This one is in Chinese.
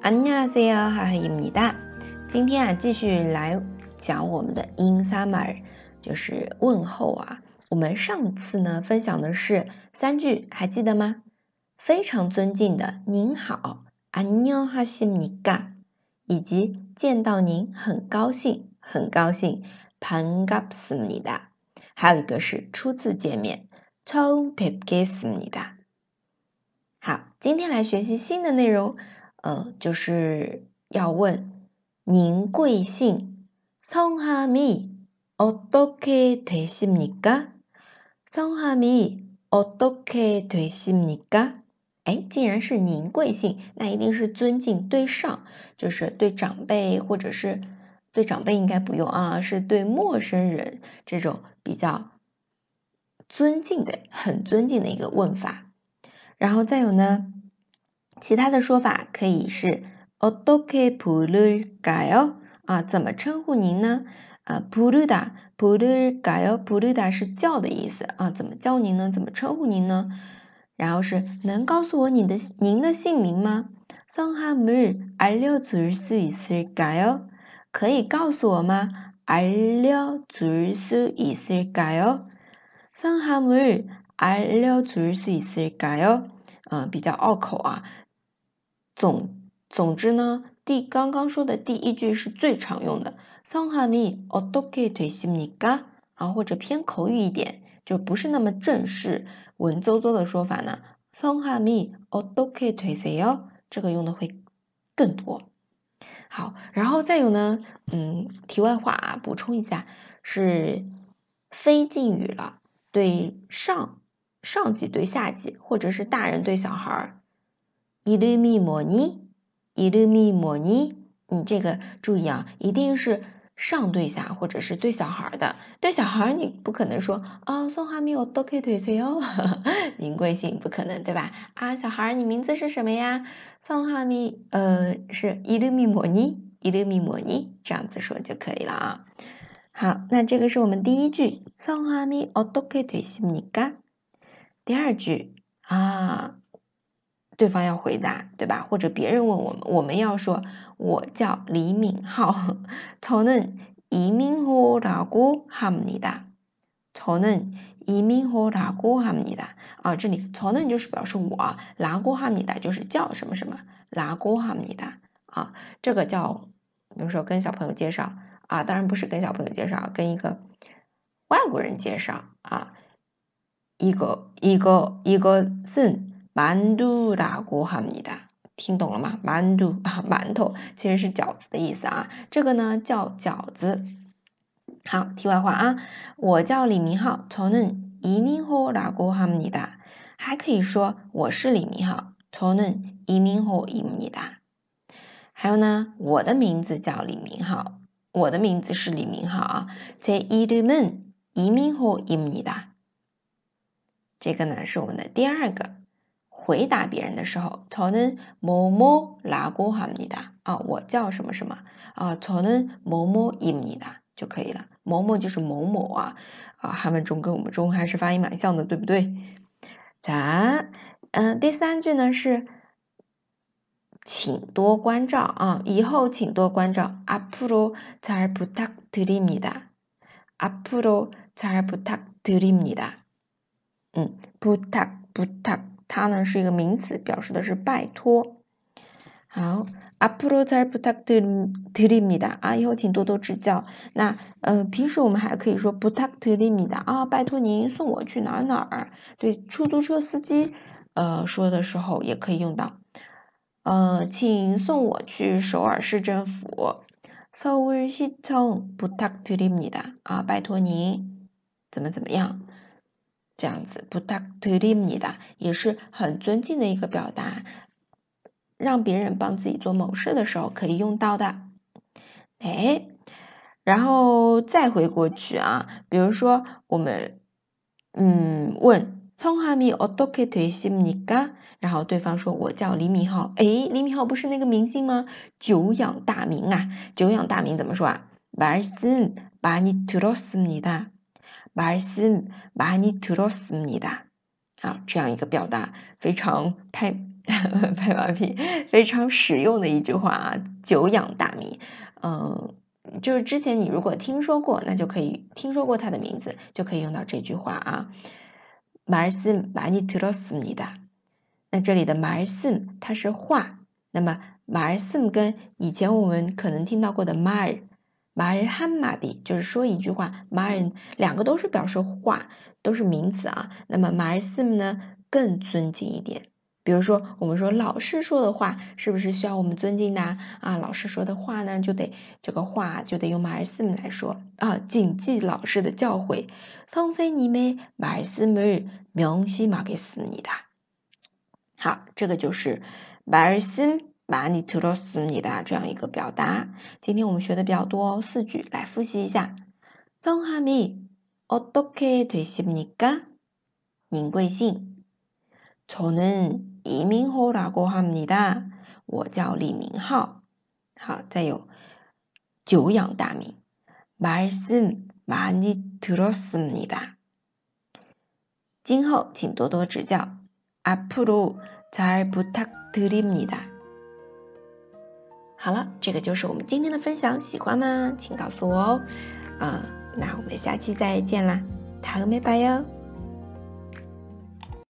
안녕하세요， 하하입니다。今天啊，继续来讲我们的 인사말， 就是问候啊。我们上次呢分享的是3句，还记得吗？非常尊敬的您好，안녕하십니까，以及见到您很高兴，很高兴，반갑습니다。还有一个是初次见面，처음뵙겠습니다。好，今天来学习新的内容。就是要问您贵姓？성함이 어떻게 되십니까？ 성함이 어떻게 되십니까？ 竟然是您贵姓，那一定是尊敬对上，就是对长辈，或者是对长辈应该不用啊，是对陌生人这种比较尊敬的、很尊敬的一个问法。然后再有呢，其他的说法可以是어떻게 부를까요？ 怎么称呼您呢？부르다 부르다是叫的意思怎么叫您呢？怎么称呼您呢？然后是能告诉我您的姓名吗？성함을 알려줄 수 있을까요？ 可以告诉我吗？알려줄 수 있을까요？ 성함을 알려줄 수 있을까요？ 比较拗口啊。总之呢，刚刚说的第一句是最常用的，성함이 어떻게 되십니까？ 或者偏口语一点，就不是那么正式文绉绉的说法呢，성함이 어떻게 되세요？ 这个用的会更多。好，然后再有呢，题外话补充一下，是非敬语了，对上级对下级，或者是大人对小孩。이름이 뭐니？ 이름이 뭐니？ 这个注意啊，一定是上对下，或者是对小孩的。对小孩你不可能说성함이 어떻게 되세요？ 您贵姓不可能，对吧？小孩你名字是什么呀？성함이是이름이 뭐니？ 이름이 뭐니？ 这样子说就可以了啊。好，那这个是我们第一句，성함이 어떻게 되십니까？ 第二句对方要回答，对吧？或者别人问我们要说我叫李敏浩，저는 이민호라고 합니다。 저는 이민호라고 합니다。 这里저는就是表示我，라고 합니다就是叫什么什么，라고 합니다。 这个叫，比如说跟小朋友介绍当然不是跟小朋友介绍，跟一个外国人介绍이것은 만두라고 합니다。 听懂了吗？만두馒头其实是饺子的意思这个呢叫饺子。好，题外话我叫李明浩，저는 이민호라고 합니다。 还可以说我是李明浩，저는 이민호입니다。 还有呢，我的名字叫李明浩，我的名字是李明浩제 이름은 이민호입니다。 这个呢是我们的第二个回答别人的时候，저는 뭐뭐라고 합니다。 我叫什么什么저는 뭐뭐입니다就可以了。某某就是某某韩文中跟我们中还是发音蛮像的，对不对？자，第三句呢是请多关照以后请多关照。앞으로 잘 부탁드립니다。 앞으로 잘 부탁드립니다。 부탁它呢是一个名词，表示的是拜托。好，앞으로 잘 부탁드립니다。 以后请多多指教。那平时我们还可以说부탁드립니다。拜托您送我去哪儿。对出租车司机说的时候也可以用到。请送我去首尔市政府。서울시청 부탁드립니다。 拜托您怎么样。这样子부탁드립니다也是很尊敬的一个表达，让别人帮自己做某事的时候可以用到的。然后再回过去比如说我们问성함이 어떻게 되십니까？ 然后对方说我叫李敏浩。李敏浩不是那个明星吗？久仰大名久仰大名怎么说말씀 많이 들었습니다。 말씀 많이 들었습니다。 啊，这样一个表达非常拍马屁，非常实用的一句话啊，久仰大名。就是之前你如果听说过，那就可以听说过他的名字，就可以用到这句话啊。말씀 많이 들었습니다。那这里的말씀它是话，那么말씀跟以前我们可能听到过的말 한마디就是说一句话，말两个都是表示话，都是名词啊。那么말씀呢更尊敬一点。比如说我们说老师说的话是不是需要我们尊敬的啊？老师说的话呢这个话就得用말씀来说啊，谨记老师的教诲。선생님의 말씀을 명심하겠습니다。好，这个就是말씀 많이 들었습니다这样一个表达。今天我们学的比较多4句，来复习一下。성함이 어떻게 되십니까？您贵姓？저는 이민호라고 합니다。我叫李明浩。好，再有久仰大名。말씀 많이 들었습니다。今后请多多指教。앞으로 잘 부탁드립니다。好了，这个就是我们今天的分享，喜欢吗？请告诉我哦。那我们下期再见啦，다음에 봐요。